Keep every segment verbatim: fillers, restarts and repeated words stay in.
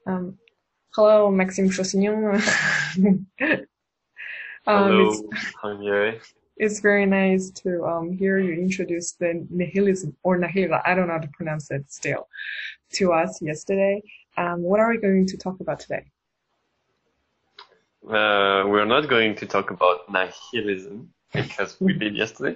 Um, Hello, Maxime Chausignon. um, it's Hello, Kanye. it's very nice to um hear you introduce the nihilism or nihil. I don't know how to pronounce it still to us yesterday. Um, what are we going to talk about today? Uh, we're not going to talk about nihilism because we did yesterday.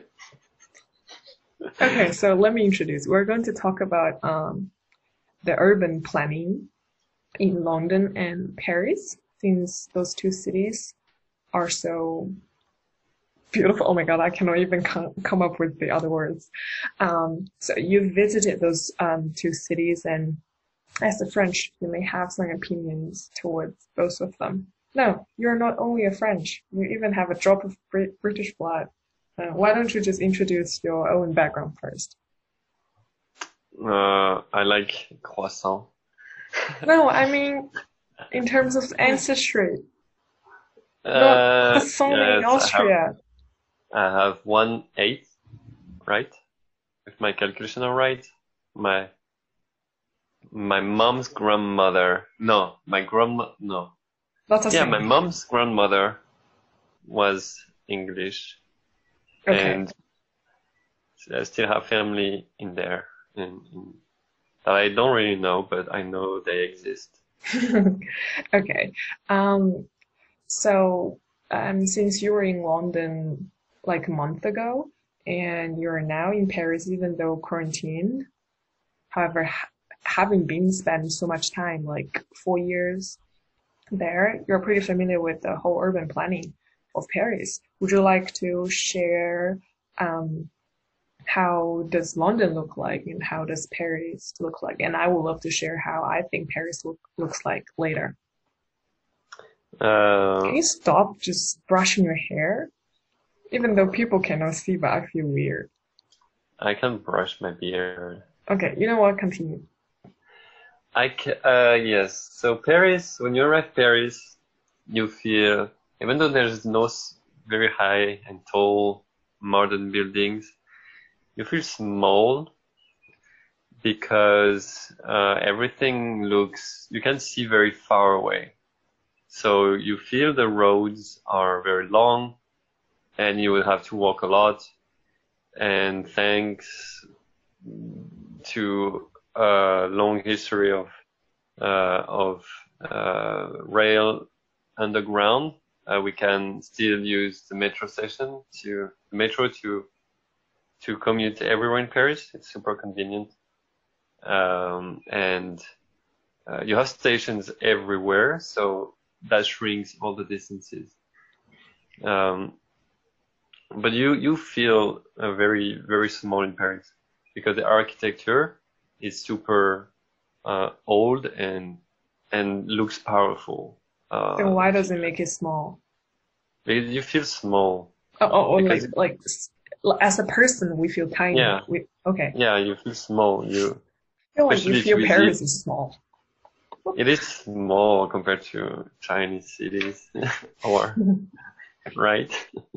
Okay, so let me introduce. We're going to talk about um the urban planning in London and Paris, since those two cities are so beautiful. Oh my God, I cannot even come, come up with the other words. Um, so you visited those um, two cities, and as a French, you may have some opinions towards both of them. No, you're not only a French, you even have a drop of Brit- British blood. Uh, why don't you just introduce your own background first? Uh, I like croissant. No, I mean, in terms of ancestry, not Uh, croissant in yes, I have Austria. I have one eighth, right? If my calculation are right. My my mom's grandmother. No, my grandma. No. That's a Yeah, my thing. mom's grandmother was English, Okay. and I still have family in there, in, in that I don't really know, but I know they exist. Okay. Um, So, um, since you were in London like a month ago and you're now in Paris, even though quarantined, however, ha having been spent so much time, like four years there, you're pretty familiar with the whole urban planning of Paris. Would you like to share, um, how does London look like and how does Paris look like? And I would love to share how I think Paris look, looks like later. Can Uh, you stop just brushing your hair? Even though people cannot see, but I feel weird. I can brush my beard. Okay, you know what? Continue. I ca uh, yes. So Paris, when you arrive Paris, you feel, even though there's no s- very high and tall modern buildings, you feel small because uh, everything looks, you can see very far away. So you feel the roads are very long and you will have to walk a lot. And thanks to a long history of uh, of uh, rail underground, uh, we can still use the metro station to metro to to commute everywhere in Paris. It's super convenient, um, and uh, you have stations everywhere, so that shrinks all the distances. Um, but you you feel uh, very very small in Paris because the architecture is super uh, old and and looks powerful. Then Uh, why does it make it small? because you feel small Oh, oh, oh because like like as a person, we feel tiny. yeah, We okay. yeah, you feel small. You I feel like you especially if feel you visit, Paris is small. it is small compared to Chinese cities, or right?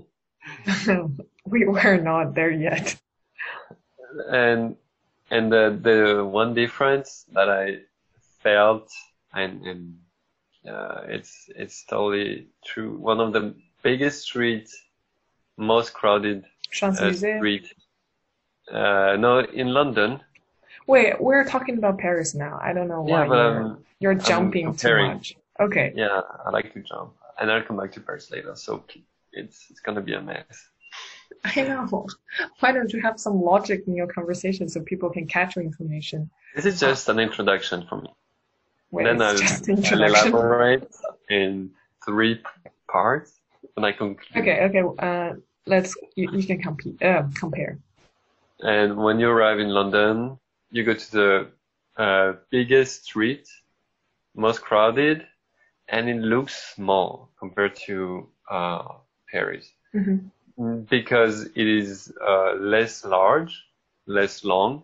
We were not there yet. And and the the one difference that I felt and and uh, it's it's totally true. One of the biggest streets, most crowded uh, Champs-Élysées. street. Uh, no, in London. Wait, we're talking about Paris now. I don't know Yeah, why but you're I'm you're I'm jumping too comparing. much. Okay. Yeah, I like to jump, and I'll come back to Paris later. So it's it's gonna be a mess. I know. Why don't you have some logic in your conversation so people can catch your information? This is Uh, just an introduction for me. wait, Then it's I'll just the I'll introduction. elaborate in three p- parts when I conclude. Okay, okay. Uh, let's you, you can compete. Uh, compare. And when you arrive in London, you go to the uh, biggest street, most crowded, and it looks small compared to uh, Paris. Hmm. Because it is uh, less large, less long,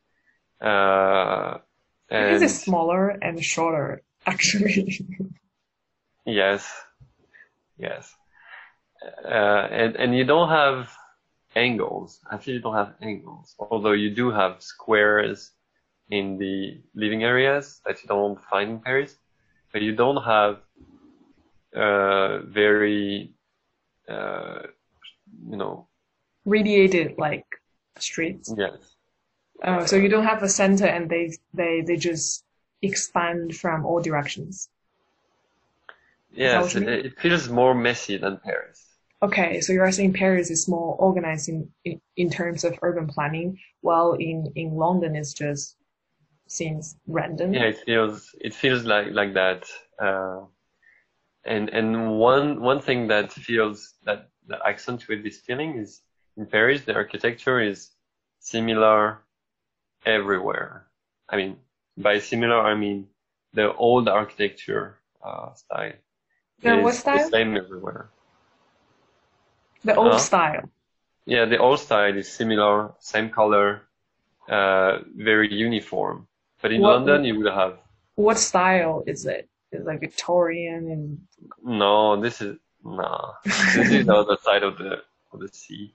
uh, Because it's and smaller and shorter, actually. yes, yes, uh, and and you don't have angles. Actually, you don't have angles, although you do have squares in the living areas that you don't find in Paris. but you don't have uh, very, uh, you know, Radiated like streets. yes, Uh, so you don't have a center and they they they just expand from all directions. Is that what yes, you it, mean? it feels more messy than Paris. Okay, so you're saying Paris is more organized in, in, in terms of urban planning, while in, in London it's just seems Yeah, random. it feels it feels like like that. Uh, and and one one thing that feels that that accentuates this feeling is in Paris the architecture is similar everywhere. I mean, by similar I mean the old architecture uh, style The what is the style? same everywhere. The old Uh, style. yeah, the old style is similar, same color, uh, very uniform. But in What London you will have what style is it? Is it like Victorian and no, this is no. This is the other side of the of the sea.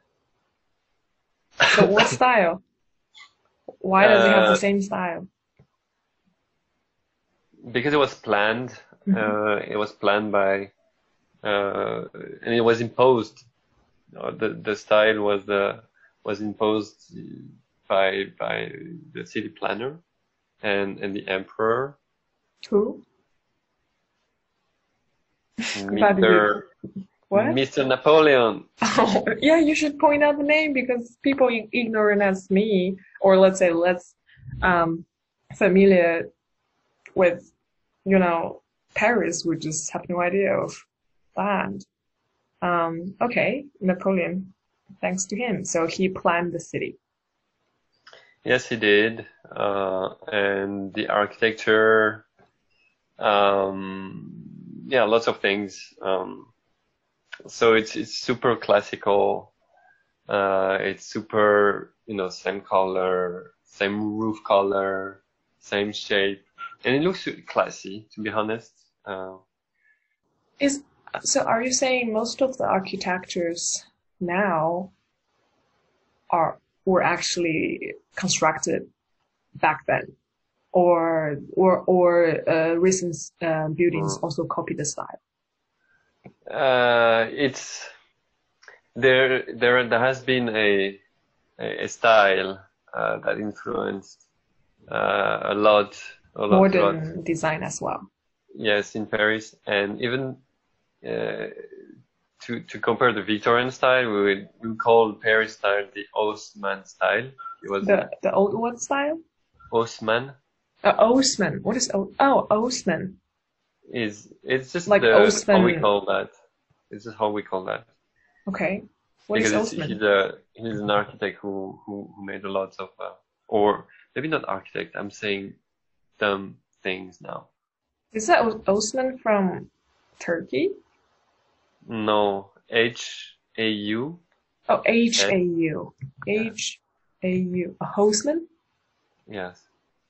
so what style? Why does it have the Uh, same style? because it was planned, Mhm. uh, it was planned by, uh, and it was imposed. Uh, the the style was uh, was imposed by by the city planner and and the emperor, Who? But the mister what? mister Napoleon. Oh, yeah, you should point out the name because people i- ignorant as me, or let's say less um, familiar with, you know, Paris would just have no idea of that. Um, okay, Napoleon, thanks to him. So he planned the city. Yes, he did. Uh, and the architecture, um, yeah, lots of things. Um, so it's it's super classical. Uh, it's super, you know, same color, same roof color, same shape, and it looks classy, to be honest. Uh, Is so are you saying most of the architectures now are were actually constructed back then? Or or or uh, recent uh, buildings mm. also copy the style? uh, it's there. There, there has been a a, a style uh, that influenced uh, a lot, a lot, a lot. Modern design as well. Yes, in Paris, and even uh, to to compare the Victorian style, we would we would call Paris style the Haussmann style. It was The the old what style? Haussmann Uh, Osman. What is o oh Osman? is it's just Like the how we Osman. call that. It's just how we call that Okay. What is because it's Osman? he's a he's an architect who who, who made a lot of uh, or maybe not architect. I'm saying dumb things now. Is that O- Osman from Turkey? No, H A U Oh, H S. A U. Yeah. H A U. A Hosman? Yes.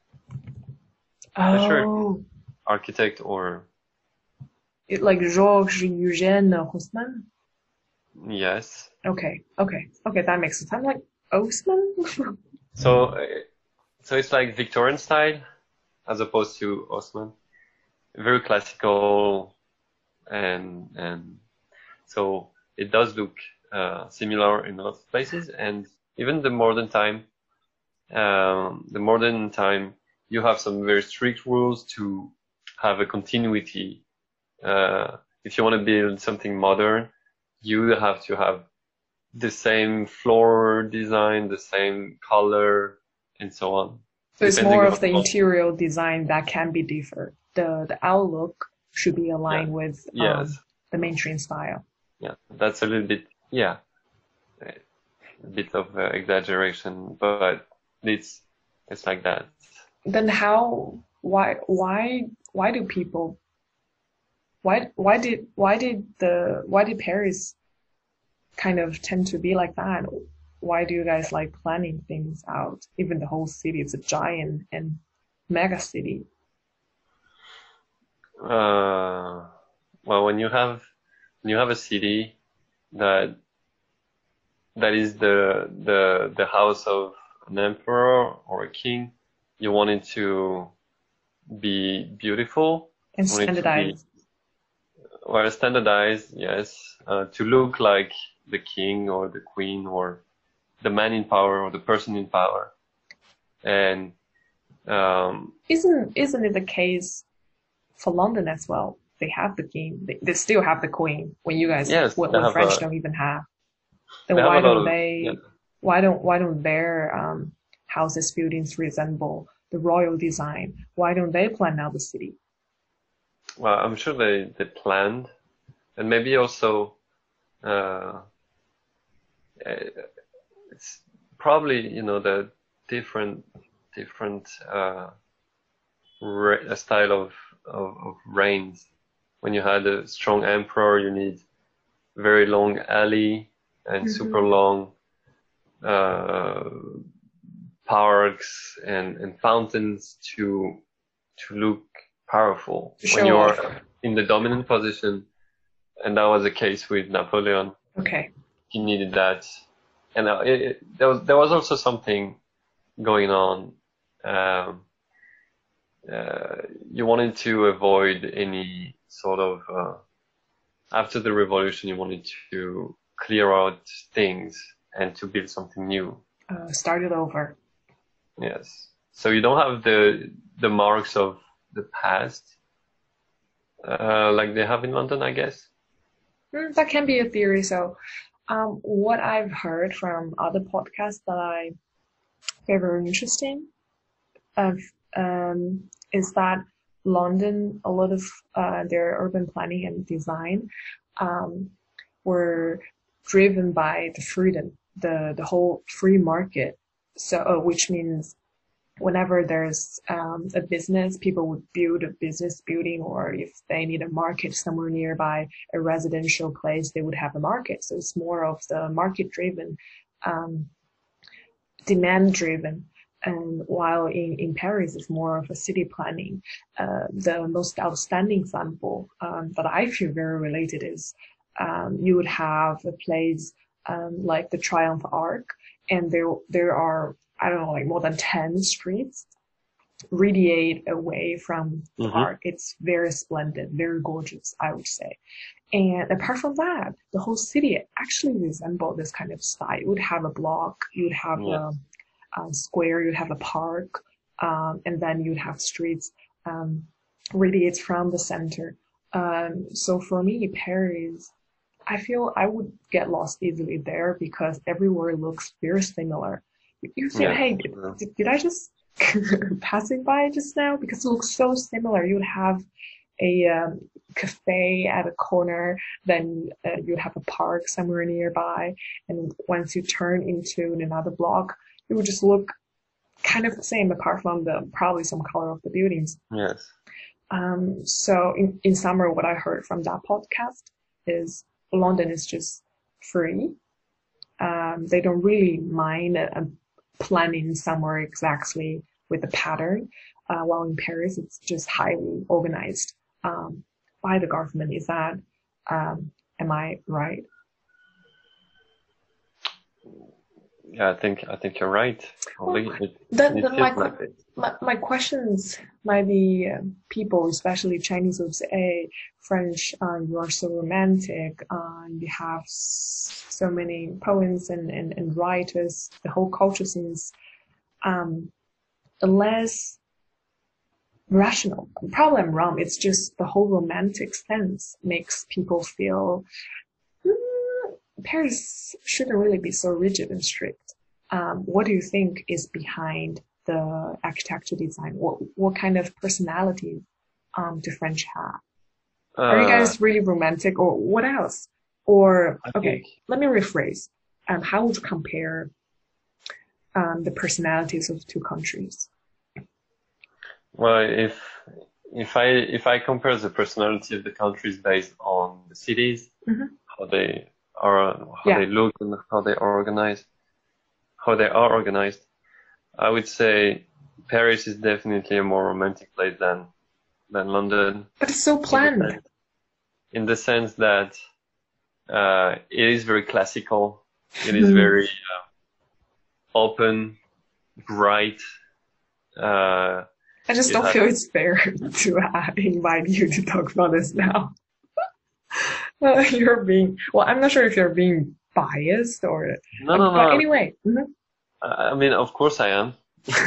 Not sure if he's Oh, architect or it like Georges Eugène Haussmann? yes. Okay, okay, okay, that makes sense. I'm like, Osman? So uh, so it's like Victorian style as opposed to Osman. Very classical and and so it does look uh, similar in a lot of places and even the modern time um, the modern time you have some very strict rules to have a continuity. Uh, if you want to build something modern, you have to have the same floor design, the same color, and so on, So it's depending more on, of the on interior design that can be different. The the outlook should be yeah, aligned with um yes, the mainstream style. yeah. That's a little bit, yeah, a bit of uh, exaggeration, but it's it's like that. Then how why why why do people why why did why did the why did Paris kind of tend to be like that? Why do you guys like planning things out? Even the whole city is a giant and mega city. Uh, well, when you have when you have a city that that is the the the house of an emperor or a king, you want it to be beautiful And want it to be standardized. well standardized, yes, uh, to look like the king or the queen or the man in power or the person in power. And um, Isn't isn't it the case for London as well? They have the king. They, they still have the queen. When you guys, yes, when, they when have French a don't even have, they then have a why lot don't of yeah. they? Why don't why don't their um, houses buildings resemble the royal design? Why don't they plan out the city? Well, I'm sure they they planned, and maybe also uh, it's probably you know the different different uh, re- style of, of of reigns. When you had a strong emperor, you need very long alley and super Hmm. long uh, parks and, and fountains to to look powerful. To When show off. you're in the dominant position, and that was the case with Napoleon, Okay. he needed that. And uh, it, it, there was there was also something going on. Um, uh, you wanted to avoid any sort of uh, after the revolution, you wanted to clear out things and to build something new. Uh, start it over. Yes. So you don't have the the marks of the past, uh, like they have in London, I guess. Mm, that can be a theory. So, um, what I've heard from other podcasts that I find very interesting of um, is that London, a lot of uh, their urban planning and design um, were driven by the freedom, the the whole free market. So, uh, which means whenever there's um, a business, people would build a business building, or if they need a market somewhere nearby, a residential place, they would have a market. So it's more of the market driven, um, demand driven. And while in, in Paris, it's more of a city planning. Uh, the most outstanding example um, that I feel very related is um, you would have a place um, like the Triumph Arc, and there there are I don't know like more than ten streets radiate away from the Hmm. arc. It's very splendid, very gorgeous, I would say. And apart from that, the whole city actually resembled this kind of style. You would have a block, you would have Yeah. a, a square, you'd have a park, um, and then you'd have streets um, radiates from the center. Um, so for me, Paris, I feel I would get lost easily there because everywhere looks very similar. You feel, Yeah. hey, did, did, did I just passing by just now? Because it looks so similar. You would have a um, cafe at a corner, then uh, you have a park somewhere nearby, and once you turn into another block, it would just look kind of the same apart from the probably some color of the buildings. Yes. Um, so in, in summer, what I heard from that podcast is London is just free. Um, they don't really mind uh, planning somewhere exactly with the pattern. Uh, while in Paris, it's just highly organized um, by the government. Is that, um, am I right? Yeah, I think I think you're right. Well, Probably it then, it then my, feels like it. my, my questions might be uh, people, especially Chinese, would say, hey, French, uh, you are so romantic. Uh, you have so many poems and, and, and writers. The whole culture seems um, less rational. Probably I'm wrong. It's just the whole romantic sense makes people feel mm, Paris shouldn't really be so rigid and strict. Um, what do you think is behind the architecture design? What what kind of personality um, do French have? Are you Uh, guys really romantic, or what else? Or I think okay, let me rephrase. Um, how would you compare um, the personalities of two countries? well, if if I if I compare the personality of the countries based on the cities, Mm-hmm. how they are, how Yeah. they look, and how they organize, how they are organized, I would say Paris is definitely a more romantic place than than London But it's so in the planned. sense in the sense that uh, it is very classical. It is Mm. very uh, open, bright. Uh, I just You don't have feel it's fair to uh, invite you to talk about this now. Uh, you're being, well, I'm not sure if you're being biased or, no, uh, no, but no. anyway. Mhm. I I mean, of course I am,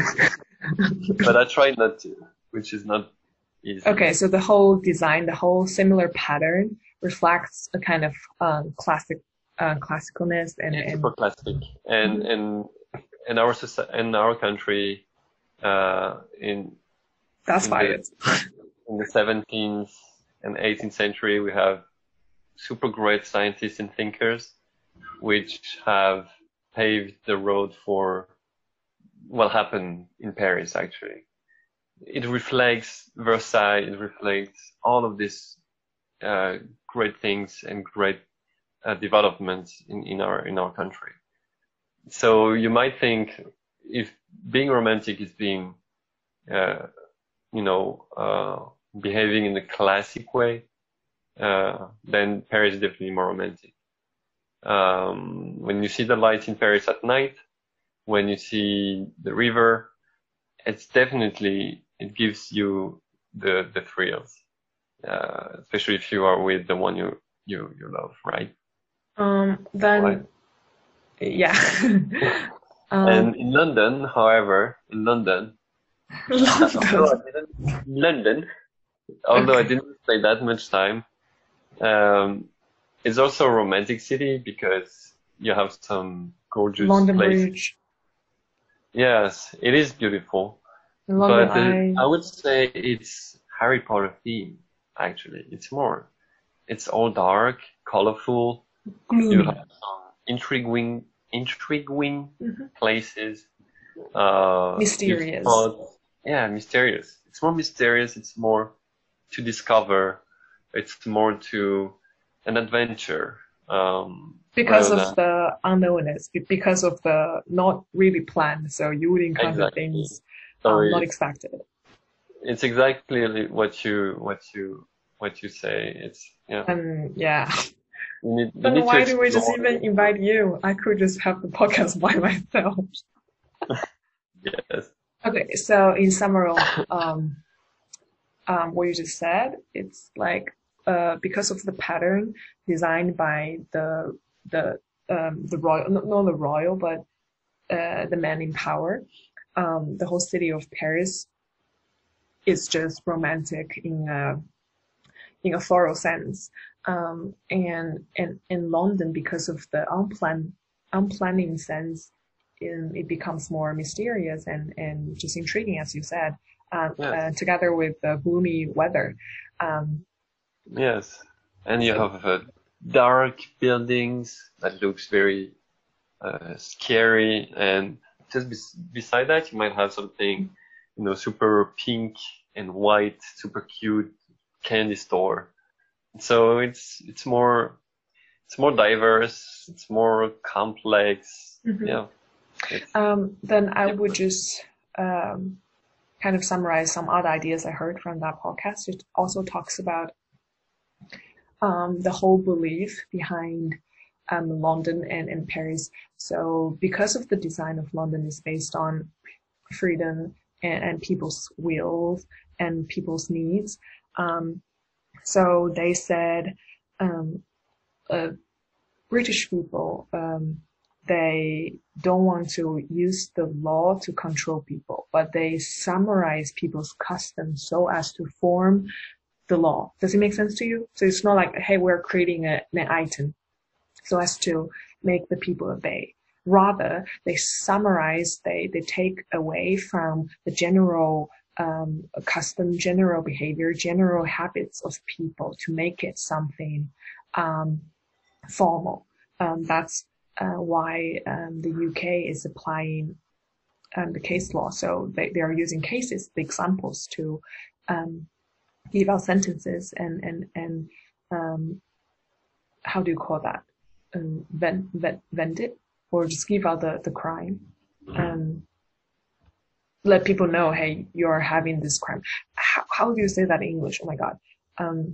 but I try not to, which is not easy. Okay, so the whole design, the whole similar pattern reflects a kind of um, classic, uh, classicalness and, It's and super classic, and Mhm. and in our soci- in our country, uh, in That's in the biased. in the seventeenth and eighteenth century, we have super great scientists and thinkers, which have paved the road for what happened in Paris, actually. It reflects Versailles, it reflects all of these uh, great things and great uh, developments in, in our in our country. So you might think if being romantic is being, uh, you know, uh, behaving in the classic way, uh, then Paris is definitely more romantic. Um, when you see the lights in Paris at night, when you see the river, it's definitely, it gives you the, the thrills, uh, especially if you are with the one you, you, you love, right? Um, Right. then, yeah. And Um, in London, however, in London, uh, although I London. didn't, London, although I Okay. didn't stay that much time, um, it's also a romantic city because you have some gorgeous London places. Bridge. Yes, it is beautiful, London but uh, Eye. I would say it's Harry Potter theme, actually. It's more, it's all dark, colorful. You have Gloomy. some intriguing, intriguing Mhm. places. Uh, you Mysterious. spot, yeah, mysterious. It's more mysterious. It's more to discover. It's more to an adventure, um, Because rather of than the unknownness, be- because of the not really planned, so you would encounter exactly. things So um, not it's expected. it's exactly what you what you what you say. It's yeah. And yeah, You need you then need to why do we just explore. even invite you? I could just have the podcast by myself. Yes. Okay, so in summary of um, um, what you just said, it's like uh, because of the pattern designed by the the um, the royal, not, not the royal, but uh, the man in power. Um, the whole city of Paris is just romantic in a in a thorough sense. Um, and and in London, because of the unplanned unplanning sense, in, it becomes more mysterious and and just intriguing, as you said. Uh, Yes. uh, together with the gloomy weather. Um, Yes. And you so have uh, dark buildings that looks very uh, scary, and just bes beside that, you might have something, you know, super pink and white, super cute candy store. So it's it's more it's more diverse, it's more complex. mhm. Yeah, it's um, then I would different. just um, kind of summarize some other ideas I heard from that podcast. It also talks about um, the whole belief behind um, London and, and Paris. So because of the design of London is based on freedom and, and people's wills and people's needs. Um, so they said um, uh, British people, um, they don't want to use the law to control people, but they summarize people's customs so as to form the law. Does it make sense to you? So it's not like, hey, we're creating a, an item so as to make the people obey. Rather, they summarize, they, they take away from the general um, custom, general behavior, general habits of people to make it something um, formal. Um, that's uh, why um, the U K is applying um, the case law. So they, they are using cases, the examples to um, give out sentences and and and um, how do you call that? Um, vent, vent, vent it or just give out the the crime. Um, let people know, hey, you're having this crime. How, how do you say that in English? Oh my god. Um,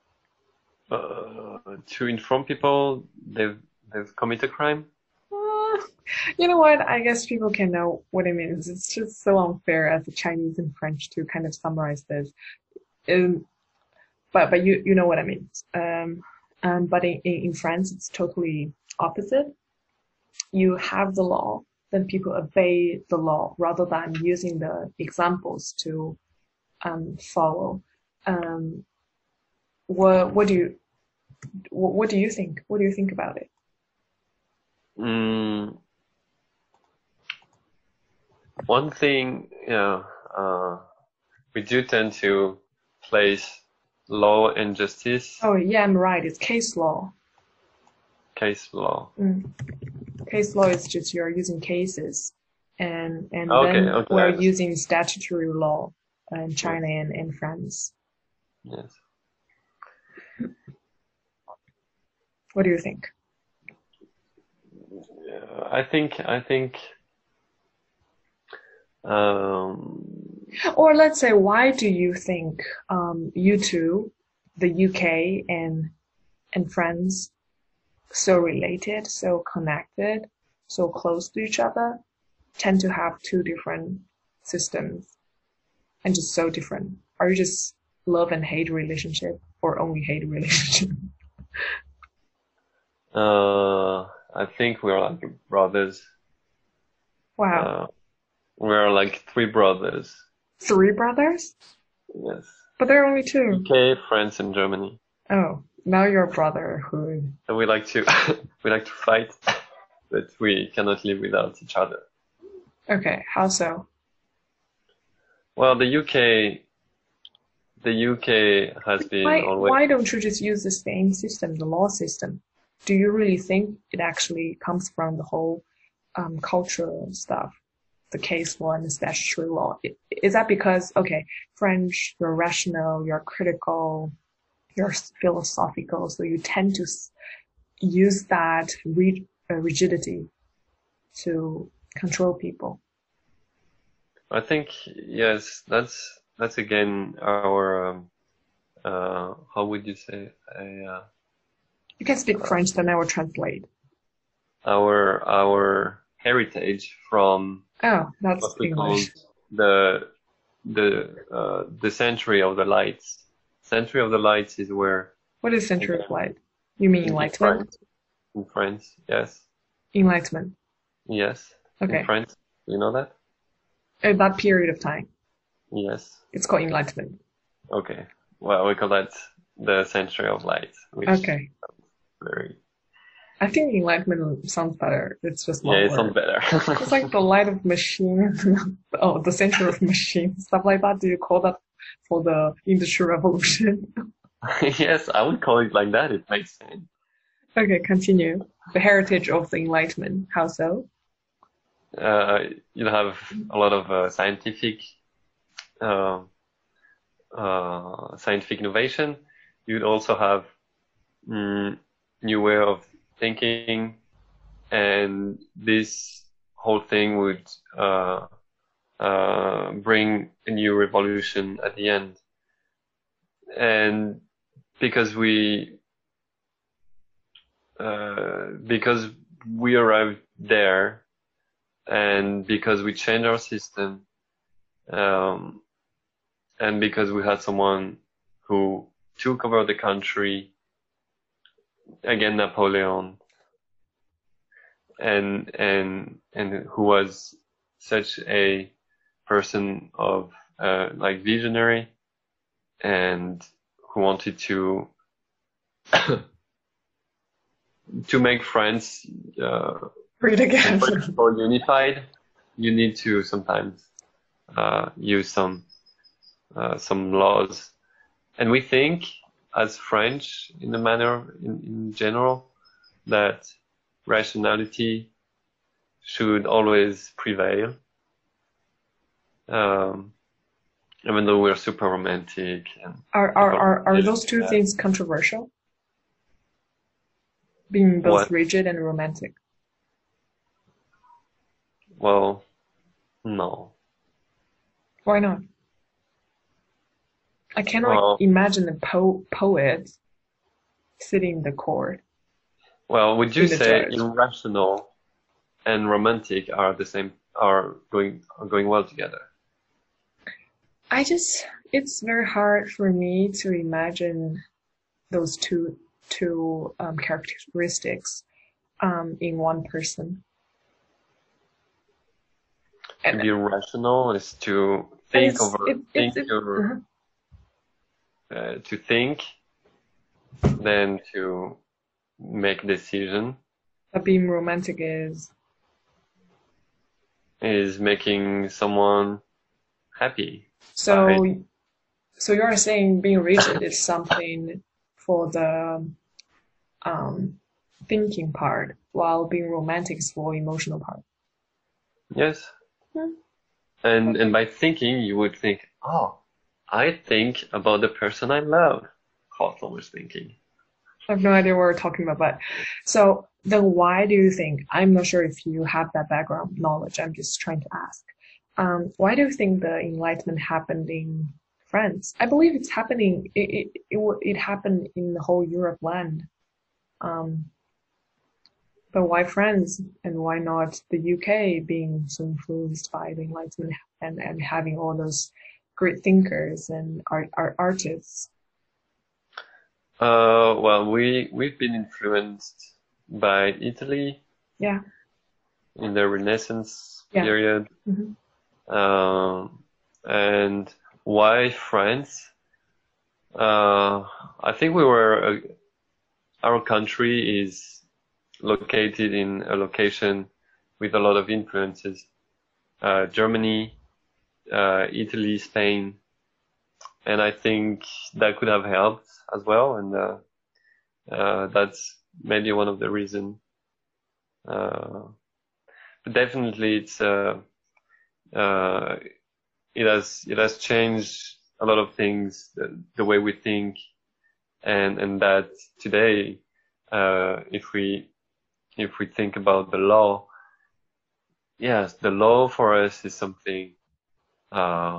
Uh, to inform people they've they've committed a crime. You know what? I guess people can know what it means. It's just so unfair as a Chinese and French to kind of summarize this. Um, but but you you know what I mean. Um, um, but in, in in France, it's totally opposite. You have the law, then people obey the law rather than using the examples to um, follow. Um, what what do you what, what do you think? What do you think about it? Mm, one thing, yeah, uh, we do tend to place law and justice, Oh yeah, I'm right. It's case law. case law. Mm. Case law is just you're using cases, and and Okay, then okay, I we're understand. using statutory law in Yes, China and, and France. yes. What do you think? Yeah, I think, I think, um, Or let's say, why do you think um, you two, the U K and and France, so related, so connected, so close to each other, tend to have two different systems and just so different? Are you just love and hate relationship or only hate relationship? uh, I think we're like brothers. Wow. Uh, we're like three brothers. Three brothers? Yes. But there are only two. U K, France, and Germany. Oh, now you're brotherhood. And we like to we like to fight, but we cannot live without each other. Okay, how so? Well, the U K the U K has been Why always why don't you just use the same system, the law system? Do you really think it actually comes from the whole um, cultural stuff, the case law and the statutory law? I- Is that because, okay, French, you're rational, you're critical, you're philosophical, so you tend to s- use that rig uh, rigidity to control people? I think yes, that's that's again our um, uh how would you say a uh, You can speak uh, French, then I will translate. our our heritage from Oh, that's what we call English. the the uh the century of the lights. Century of the lights is where What is century of again light? You mean in, in enlightenment? France in France, yes. Enlightenment. Yes, in Okay. France. You know that? At that period of time, Yes. it's called enlightenment. Okay. Well, we call that the century of light, which Okay. very I think enlightenment sounds better. It's just yeah, one it sounds word. better. It's like the light of machine. Oh, the century of machine, stuff like that. Do you call that for the industrial revolution? Yes, I would call it like that. It makes sense. Okay, continue. The heritage of the enlightenment. How so? Uh, you have a lot of uh, scientific uh, uh, scientific innovation. You'd also have mm, new way of thinking, and this whole thing would uh, uh, bring a new revolution at the end. And because we uh, because we arrived there, and because we changed our system, um, and because we had someone who took over the country, again Napoleon, and and and who was such a person of uh, like visionary, and who wanted to to make France uh, Read again. what is called unified. You need to sometimes uh, use some uh, some laws, and we think as French in the manner in, in general that rationality should always prevail, um, even though we're super romantic and Are are people are are believe those two that. things controversial? Being both What? rigid and romantic. Well, no. Why not? I cannot Well, imagine a po poet sitting in the court, well, would you being the say judge. irrational and romantic are the same, are going are going well together. I just, it's very hard for me to imagine those two two um, characteristics um, in one person. To And, be rational is to and think it's over it, think it's it, your uh uh, to think, then to make decision but being romantic is is making someone happy by so. So you're saying being rigid is something for the um, thinking part, while being romantic is for emotional part. yes. Hmm, And and okay. by thinking you would think, oh, I think about the person I love. Hawthorne was thinking. I have no idea what we're talking about, but so then why do you think, I'm not sure if you have that background knowledge, I'm just trying to ask. Um, why do you think the Enlightenment happened in France? I believe it's happening, it, it, it, wa- it happened in the whole Europe land. Um, but why France and why not the U K being so influenced by the Enlightenment and, and having all those great thinkers and art, art artists? Uh, well, we we've been influenced by Italy Yeah, in the Renaissance yeah. period. Hmm. Um, and why France? Uh, I think we were, uh, our country is located in a location with a lot of influences. Uh, Germany, uh, Italy, Spain, and I think that could have helped as well. And uh, uh, that's maybe one of the reasons. Uh, but definitely, it's uh, uh, it has it has changed a lot of things, the, the way we think, and and that today, uh, if we if we think about the law, yes, the law for us is something. Uh,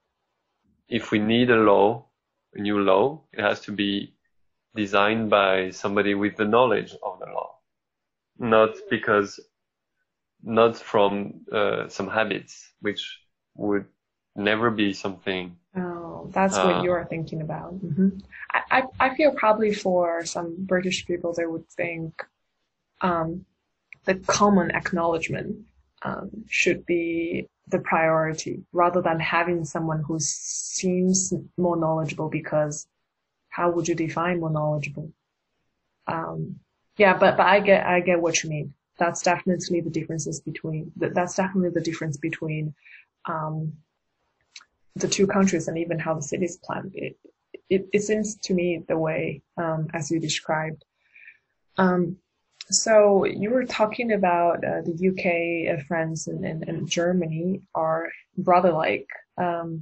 if we need a law, a new law, it has to be designed by somebody with the knowledge of the law, not because not from uh, some habits, which would never be something. Oh, that's what Uh, you're thinking about. Hmm. I, I, I feel probably for some British people, they would think um, the common acknowledgement um, should be the priority rather than having someone who seems more knowledgeable because how would you define more knowledgeable? Um, yeah, but, but I get, I get what you mean. That's definitely the differences between, that's definitely the difference between, um, the two countries and even how the cities planned. It, it, it seems to me the way, um, as you described. Um, so you were talking about uh, the U K, uh, France, and, and, and Germany are brother-like. Um,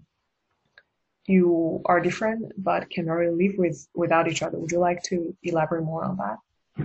you are different, but can already live with without each other. Would you like to elaborate more on that?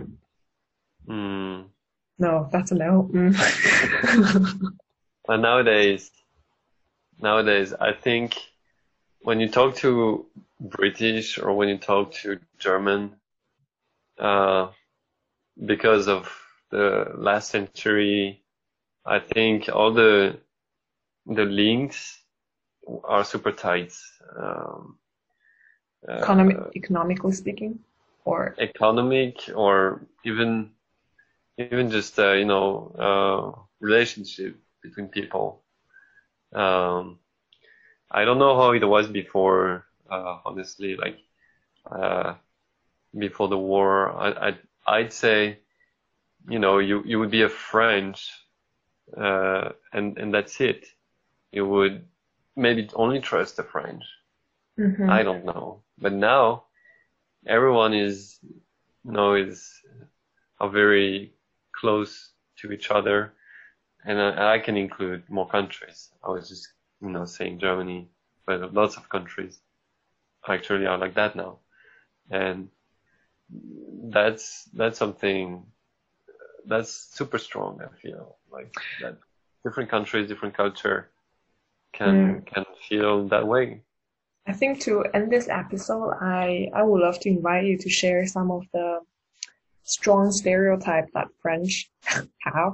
mm, No, that's a no. Mm. and nowadays, nowadays, I think when you talk to British or when you talk to German, uh, because of the last century, I think all the the links are super tight. Um, Economic, uh, economically speaking, or economic or even even just uh, you know uh, relationship between people. Um, I don't know how it was before, uh, honestly, like uh, before the war. I, I'd, I'd say, you know, you, you would be a French, uh, and, and that's it. You would maybe only trust the French. I hmm. don't know. But now everyone is, you know, is are very close to each other. And I, I can include more countries. I was just, you know, saying Germany, but lots of countries actually are like that now. And that's that's something that's super strong. I feel like that different countries, different culture can Mm. can feel that way. I think to end this episode, I I would love to invite you to share some of the strong stereotype that French have.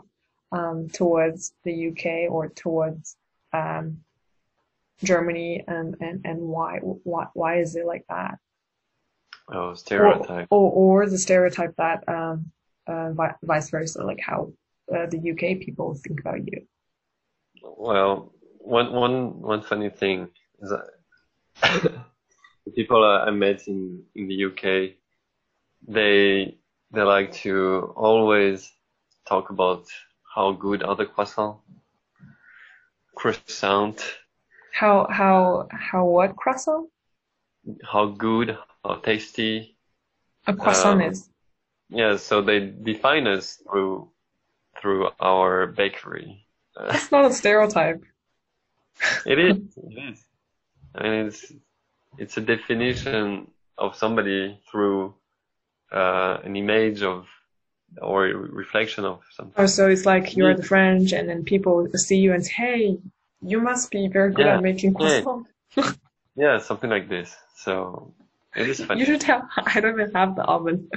um, towards the U K or towards um, Germany, and, and, and why why why is it like that? Oh, Or stereotype. or, or the stereotype that um, uh, vi vice versa, like how uh, the U K people think about you. Well, one one one funny thing is that the people I met in in the U K, they they like to always talk about how good are the croissant, croissant, How how how what croissant? how good, how tasty. A croissant Um, is. yeah, so they define us through through our bakery. Uh, That's not a stereotype. it is, it is. I mean, it's it's a definition of somebody through uh, an image of or a reflection of something. Oh, so it's like you're Yeah, the French, and then people see you and say, "Hey, you must be very good yeah, at making yeah, croissant." yeah, something like this. So it is You funny. should have. I don't even have the oven.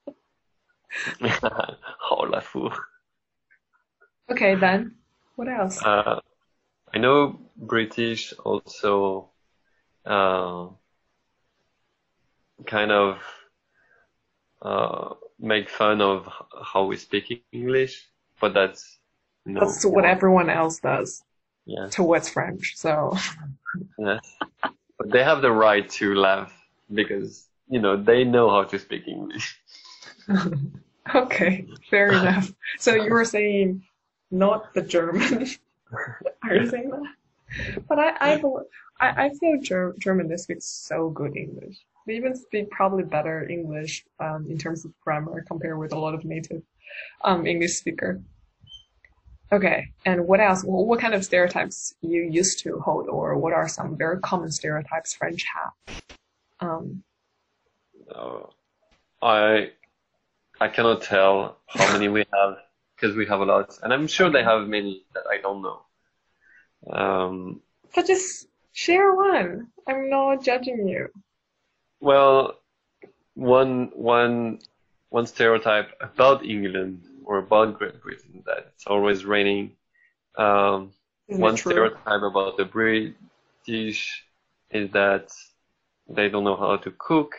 Oh, la four. Okay, then what else? Uh, I know British also uh, kind of uh, make fun of h- how we speak English, but that's you know That's what more everyone else does yes, towards French. So, yes. But they have the right to laugh because you know they know how to speak English. okay, fair enough. So you were saying not the German. Are you Yeah. saying that? But I, I, bel- I, I feel Ger German, they speak so good English. They even speak probably better English um, in terms of grammar compared with a lot of native um, English speaker. Okay, and what else? Wh- What kind of stereotypes you used to hold, or what are some very common stereotypes French have? Um, Uh, I I cannot tell how many we have because we have a lot, and I'm sure they okay, have many that I don't know. Um, so just share one. I'm not judging you. well, one one one stereotype about England or about Great Britain that it's always raining. Um, Isn't it one true? stereotype about the British is that they don't know how to cook.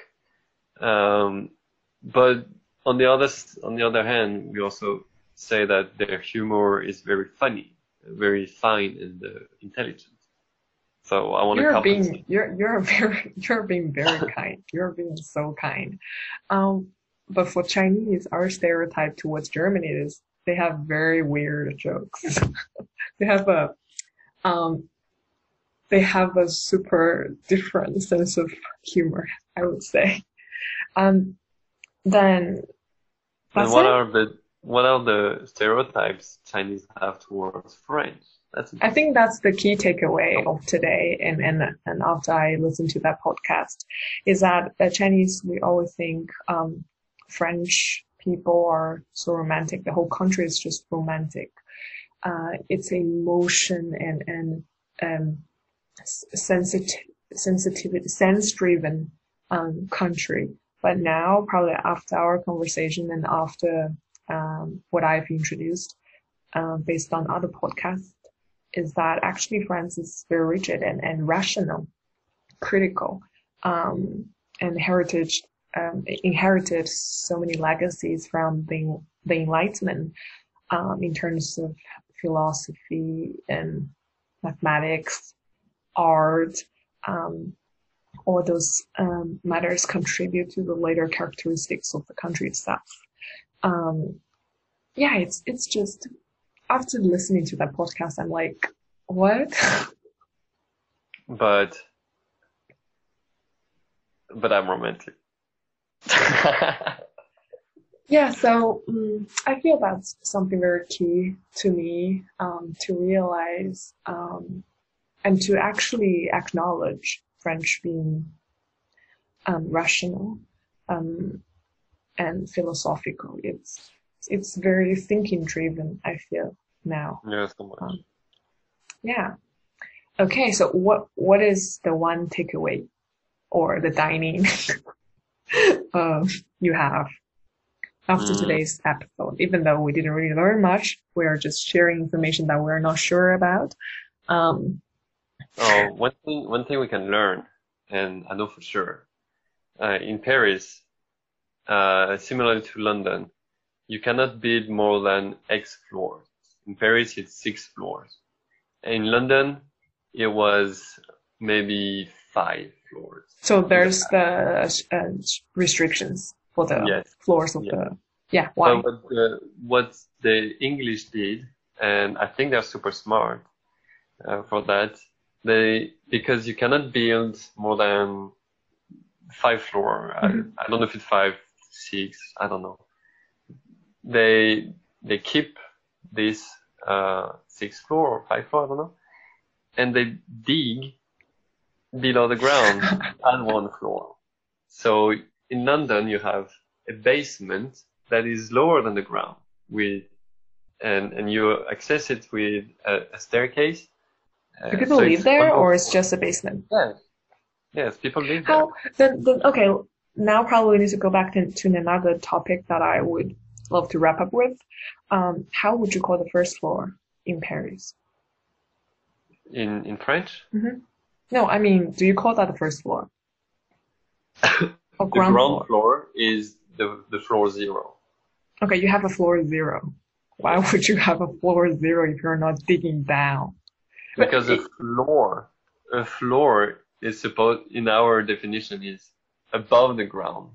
Um, but on the other s- on the other hand, we also say that their humor is very funny, very fine and uh, intelligent. So I want to You're compensate. being you're you're very you're being very kind. You're being so kind. Um, but for Chinese, our stereotype towards Germany is they have very weird jokes. They have a um they have a super different sense of humor, I would say. Um, then And that's what it. are the what are the stereotypes Chinese have towards French? That's I think interesting. that's the key takeaway of today, and and and after I listened to that podcast, is that the Chinese, we always think um, French people are so romantic. The whole country is just romantic. Uh, it's emotion and and um, sensitive sensitivity sense driven um, country. But now, probably after our conversation and after um, what I've introduced, uh, based on other podcasts, is that actually France is very rigid and, and rational, critical, um, and heritage um, inherited so many legacies from the, the Enlightenment um, in terms of philosophy and mathematics, art, um, all those um, matters contribute to the later characteristics of the country itself. Um, yeah, it's it's just after listening to that podcast, I'm like, what? But but I'm romantic. Yeah, so um, I feel that's something very key to me um, to realize um, and to actually acknowledge French being um, rational um, and philosophical. It's it's very thinking driven, I feel now. Yeah, so much. Um, yeah. Okay, so what what is the one takeaway or the dining um, you have? after Mm. today's episode. Even though we didn't really learn much, we are just sharing information that we're not sure about. Um, Oh, one thing, one thing we can learn, and I know for sure, uh, in Paris, uh, similar to London, you cannot build more than X floors. In Paris, it's six floors. In London, it was maybe five floors. so there's the uh, restrictions for the Yes, floors of yes. the, yeah, why? But what the, what the English did, and I think they're super smart uh, for that, they because you cannot build more than five floor. Mhm. I, I don't know if it's five, six, I don't know. They they keep this uh, six floor or five floor, I don't know, and they dig below the ground at one floor. So in London, you have a basement that is lower than the ground with, and, and you access it with a, a staircase. Uh, Do people so live it's there, one more or it's floor. just a basement? Yes, yes, people live there. How then? Then okay. Now probably need to go back to, to another topic that I would love to wrap up with. Um, how would you call the first floor in Paris? In in French, Mm-hmm. No, I mean, do you call that the first floor or the ground ground floor? floor is the the floor zero. Okay, you have a floor zero. Why Yes. would you have a floor zero if you're not digging down? But Because a it, floor, a floor is supposed, in our definition, is above the ground.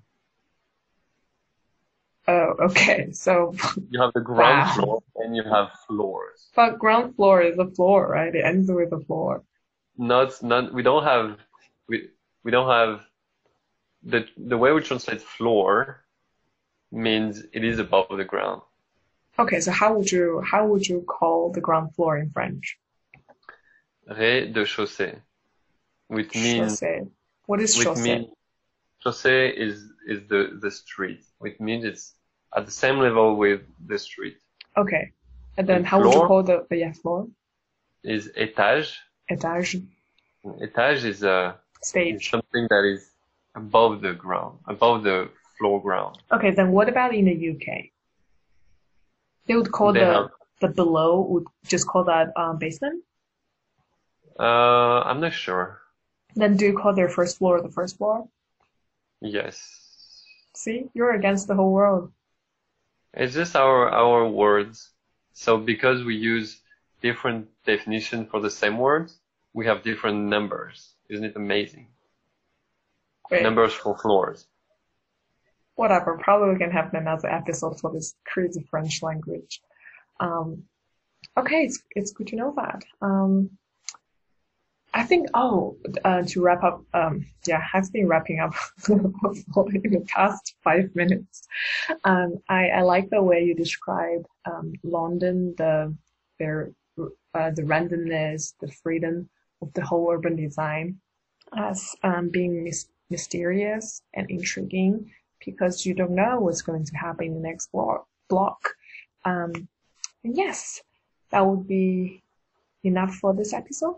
oh, okay. So, You have the ground wow. floor and you have floors. But ground floor is a floor, right? It ends with a floor. Not, not, we don't have, we, we don't have, the, the way we translate floor means it is above the ground. Okay, so how would you how would you call the ground floor in French? Rez-de-chaussée, which means, Chaussée. What is which chaussée? means, chaussée is, is the, the street, which means it's at the same level with the street. Okay. And then And how would you floor call the, the yeah, floor? is étage. Étage. Étage is a, is Stage. something that is above the ground, above the floor ground. Okay, then what about in the U K? They would call They the have, the below would just call that um, basement? uh, I'm not sure. Then do you call their first floor the first floor? Yes. See, you're against the whole world. It's just our, our words. So because we use different definition for the same words, we have different numbers. Isn't it amazing? Great. Numbers for floors. Whatever. Probably we can have another episode for this crazy French language. Um, okay, it's it's good to know that. Um, I think, oh, uh, to wrap up, um, yeah, I've been wrapping up for in the past five minutes. Um, I, I like the way you describe um, London, the their uh, the randomness, the freedom of the whole urban design as um, being mis- mysterious and intriguing because you don't know what's going to happen in the next block. block. Um, and yes, that would be enough for this episode.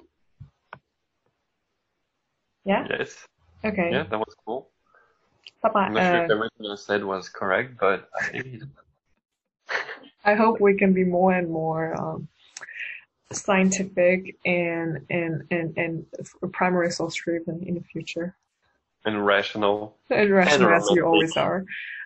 Yeah? Yes. Okay. Yeah, that was cool. Bye-bye. I'm not sure if Uh, everything I said was correct, but I think it I hope we can be more and more um, scientific and and and and primary source driven in the future. and rational And and rational as you romantic. always are.